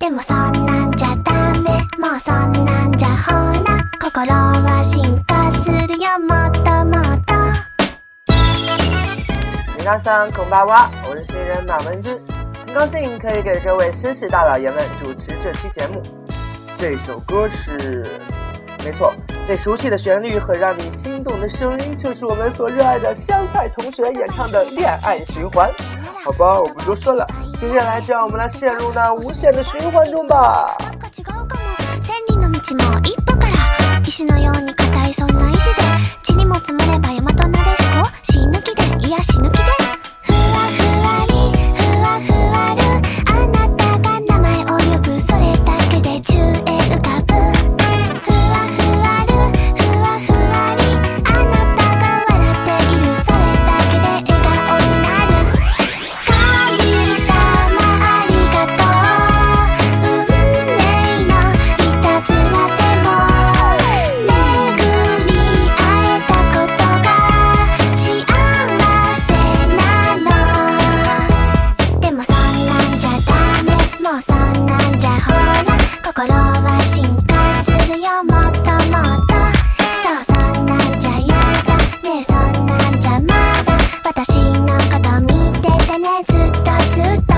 でもそんなんじゃダメもうそんなんじゃほら心は進化するよもっともっと。 皆さんこんばんは，我是新人马文君，很高兴可以给各位绅士大老爷们主持这期节目。这首歌是，没错，这熟悉的旋律和让你心动的声音，就是我们所热爱的香菜同学演唱的《恋爱循環》。好吧，我不多说了，接下来就让我们来陷入那无限的循環中吧。 石のように硬いそんな石で地にも積もれば山となでしこ死ぬ気でいや死ぬ気でふわふわりふわふわるあなたが名前を呼ぶそれだけで宙へ浮かぶふわふわるふわふわりあなたが笑っているそれだけで笑顔になる神様ありがとう運命のいたずらでも心は進化するよもっともっとそうそんなんじゃやだねえそんなんじゃまだ私のこと見ててねずっとずっと。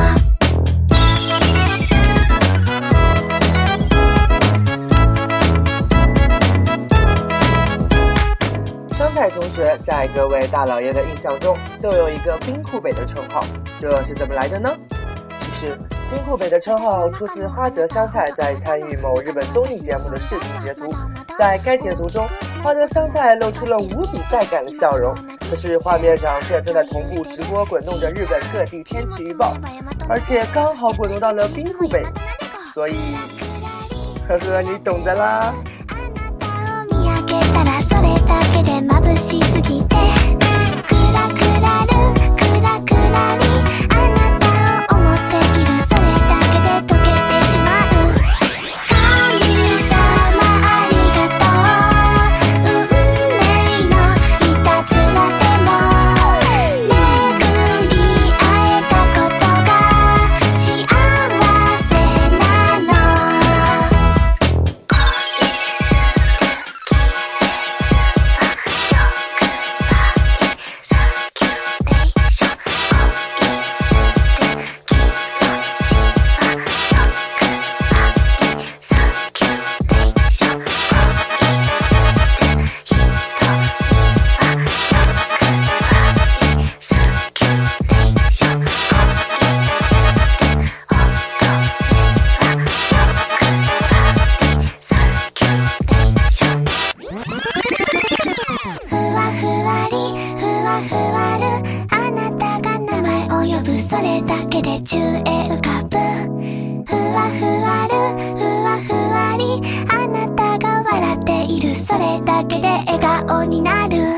香菜同学在各位大老爷的印象中都有一个冰库北的称号，这是怎么来的呢？其实冰库北的称号出自花泽香菜在参与某日本综艺节目的视频截图，在该截图中，花泽香菜露出了无比带感的笑容，可是画面上却正在同步直播滚动着日本各地天气预报，而且刚好滚动到了冰库北，所以呵呵你懂的啦。それだけで宙へ浮かぶふわふわるふわふわりあなたが笑っているそれだけで笑顔になる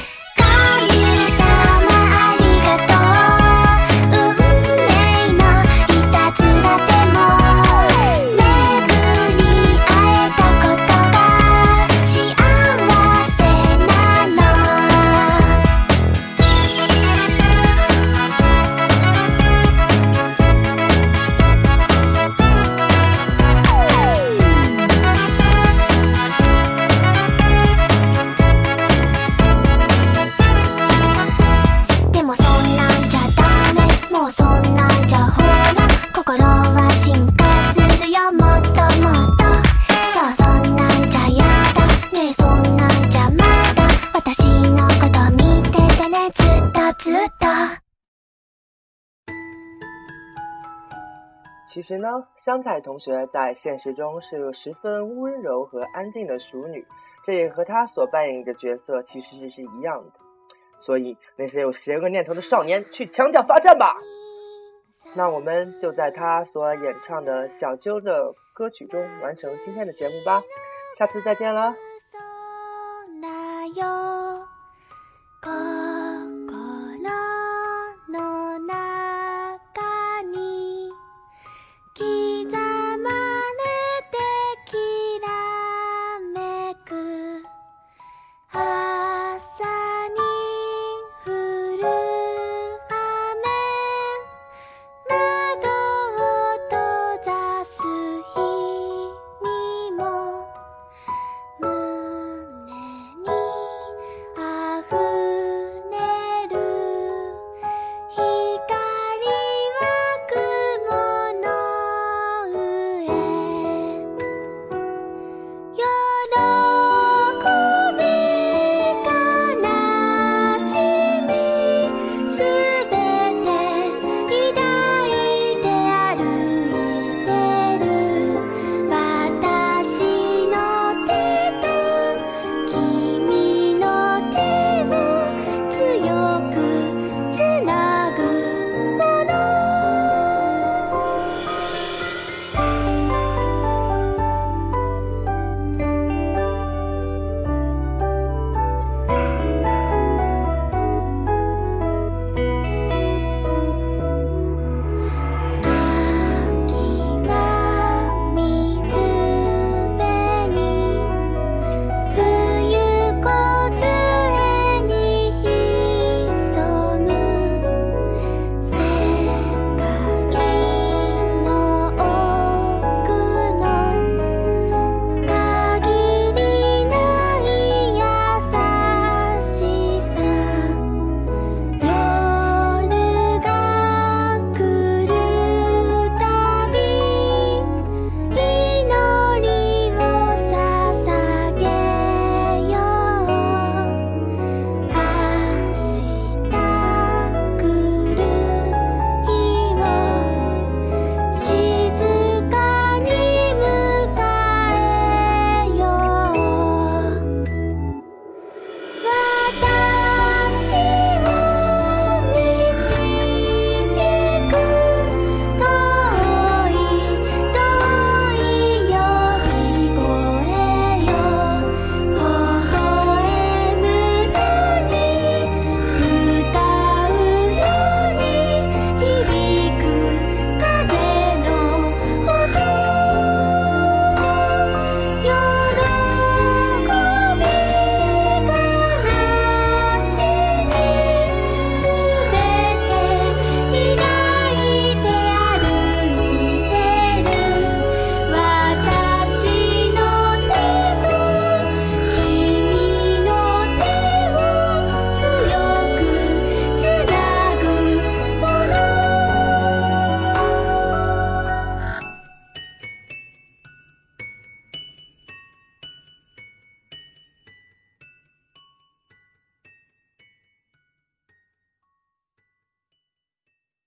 其实呢，香菜同学在现实中是个十分温柔和安静的淑女，这也和她所扮演的角色其实是一样的。所以那些有邪恶念头的少年去墙角罚站吧。那我们就在她所演唱的小鸠的歌曲中完成今天的节目吧，下次再见了。